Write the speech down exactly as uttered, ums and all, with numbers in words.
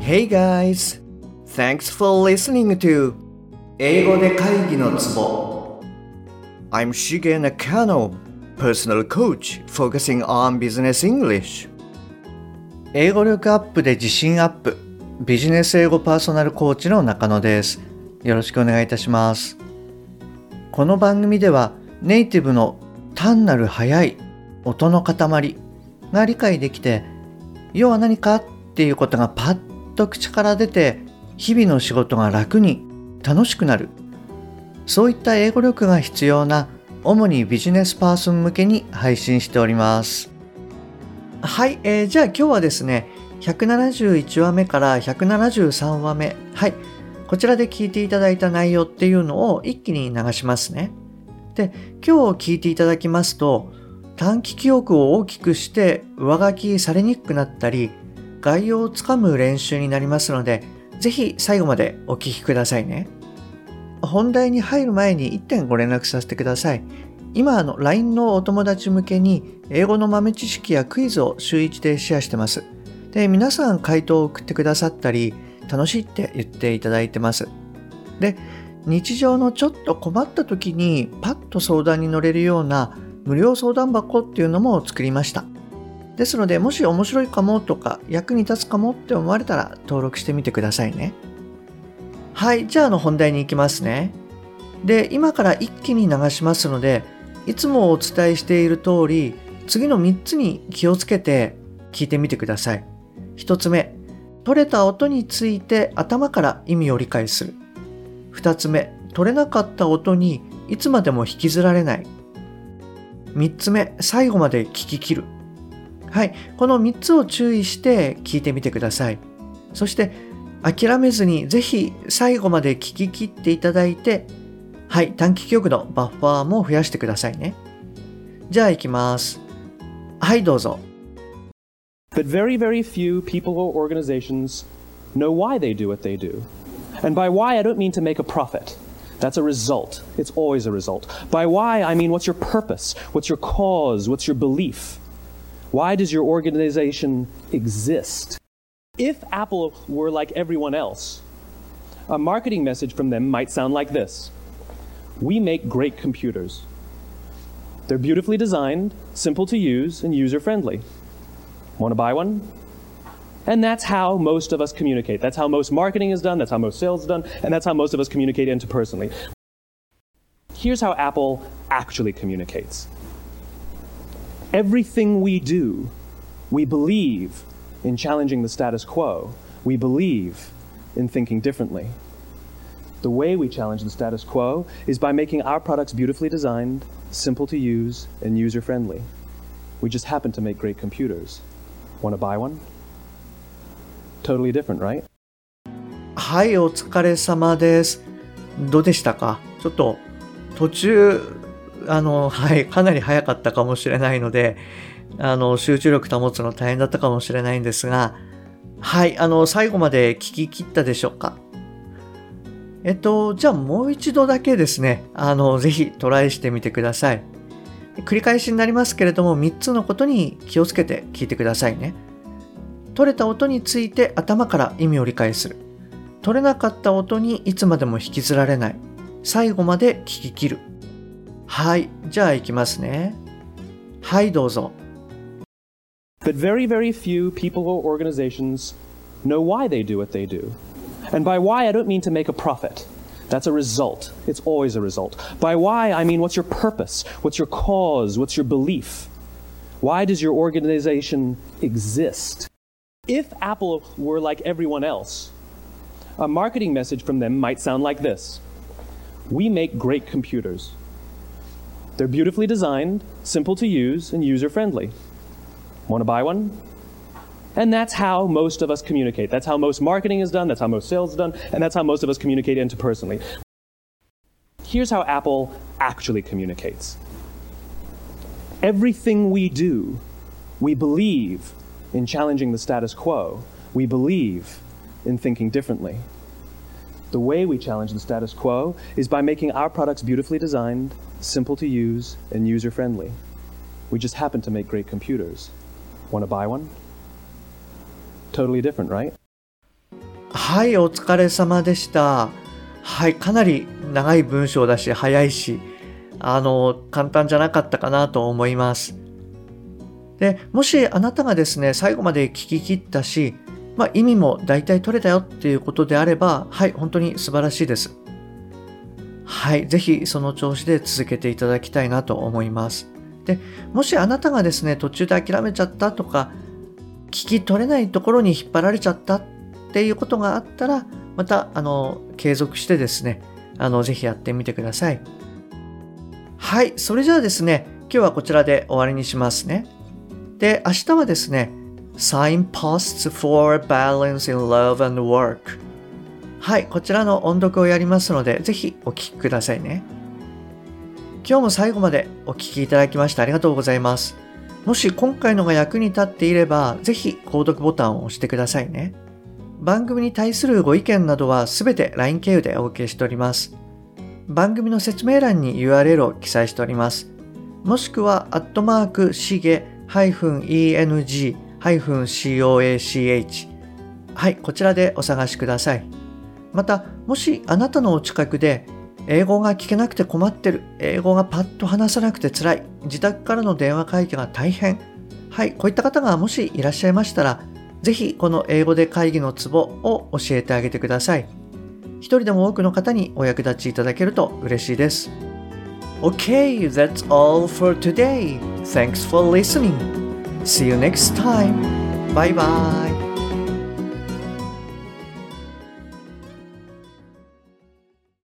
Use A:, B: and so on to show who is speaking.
A: Hey guys! Thanks for listening to 英語で会議のツボ I'm Shige Nakano, personal coach focusing on business English 英語力アップで自信アップビジネス英語パーソナルコーチの中野です。よろしくお願いいたします。この番組ではネイティブの単なる速い音の塊が理解できて、要は何かっていうことがパッと口から出て、日々の仕事が楽に楽しくなる、そういった英語力が必要な主にビジネスパーソン向けに配信しております。はい、えー、じゃあ今日はですねひゃくななじゅういちわめからひゃくななじゅうさんわめ、はい、こちらで聞いていただいた内容っていうのを一気に流しますね。で、今日聞いていただきますと、短期記憶を大きくして上書きされにくくなったり、概要をつかむ練習になりますので、ぜひ最後までお聞きくださいね。本題に入る前にいってんご連絡させてください。今あの ライン のお友達向けに英語の豆知識やクイズを週いちでシェアしてます。で、皆さん回答を送ってくださったり、楽しいって言っていただいてます。で、日常のちょっと困った時にパッと相談に乗れるような無料相談箱っていうのも作りました。ですので、もし面白いかもとか役に立つかもって思われたら登録してみてくださいね。はい、じゃああの本題に行きますね。で、今から一気に流しますので、いつもお伝えしている通り、次のみっつに気をつけて聞いてみてください。ひとつめ、取れた音について頭から意味を理解する。ふたつめ、取れなかった音にいつまでも引きずられない。みっつめ、最後まで聞き切る。はい、このみっつを注意して聞いてみてください。そして諦めずにぜひ最後まで聞き切っていただいて、はい、短期記憶のバッファーも増やしてくださいね。じゃあ行きます。はい、どうぞ。
B: But very, very few people or organizations know why they do what they do. And by why, I don't mean to make a profit. That's a result. It's always a result. By why, I mean what's your purpose? What's your cause? What's your belief? Why does your organization exist? If Apple were like everyone else, a marketing message from them might sound like this. We make great computers. They're beautifully designed, simple to use, and user-friendly. Want to buy one? And that's how most of us communicate. That's how most marketing is done, that's how most sales is done, and that's how most of us communicate interpersonally. Here's how Apple actually communicates. Everything we do, we believe in challenging the status quo. We believe in thinking differently. The way we challenge the status quo is by making our products beautifully designed, simple to use, and user-friendly. We just happen to make great computers. Want to buy one? Totally different, right?
A: はい、お疲れ様です。どうでしたか？ちょっと途中あのはいかなり早かったかもしれないので、あの集中力保つの大変だったかもしれないんですが、はいあの最後まで聞き切ったでしょうか？えっとじゃあもう一度だけですね、あのぜひトライしてみてください。繰り返しになりますけれども、みっつのことに気をつけて聞いてくださいね。取れた音について頭から意味を理解する。取れなかった音にいつまでも引きずられない。最後まで聞き切る。はい、じゃあ行きますね。はい、どうぞ。
B: But very, very few people or organizations know why they do what they do. And by why, I don't mean to make a profit. That's a result. It's always a result. By why, I mean what's your purpose? What's your cause? What's your belief? Why does your organization exist? If Apple were like everyone else, a marketing message from them might sound like this. We make great computers. They're beautifully designed, simple to use, and user-friendly. Want to buy one? And that's how most of us communicate. That's how most marketing is done, that's how most sales is done, and that's how most of us communicate interpersonally. Here's how Apple actually communicates. Everything we do, we believe in challenging the status quo. We believe in thinking differently. The way we challenge the status quo is by making our products beautifully designed, simple to use, and user-friendly. We just happen to make great computers. Want to buy one? Totally different, right?
A: はい、お疲れ様でした。はい、かなり長い文章だし、早いし、あの、簡単じゃなかったかなと思います。で、もしあなたがですね、最後まで聞き切ったし、まあ、意味も大体取れたよっていうことであれば、はい、本当に素晴らしいです。はい、ぜひその調子で続けていただきたいなと思います。で、もしあなたがですね、途中で諦めちゃったとか、聞き取れないところに引っ張られちゃったっていうことがあったら、また、あの、継続してですね、あの、ぜひやってみてください。はい、それじゃあですね、今日はこちらで終わりにしますね。で、明日はですね、Signposts for Balance in Love and Work。はい、こちらの音読をやりますので、ぜひお聞きくださいね。今日も最後までお聞きいただきましてありがとうございます。もし今回のが役に立っていれば、ぜひ購読ボタンを押してくださいね。番組に対するご意見などはすべて ライン 経由でお受けしております。番組の説明欄に ユーアールエル を記載しております。もしくは、アットマーク、しげ -eng-coach。はい、こちらでお探しください。また、もしあなたのお近くで、英語が聞けなくて困ってる、英語がパッと話さなくて辛い、自宅からの電話会議が大変。はい、こういった方がもしいらっしゃいましたら、ぜひこの英語で会議のツボを教えてあげてください。一人でも多くの方にお役立ちいただけると嬉しいです。Okay, that's all for today. Thanks for listening. See you next time. Bye bye.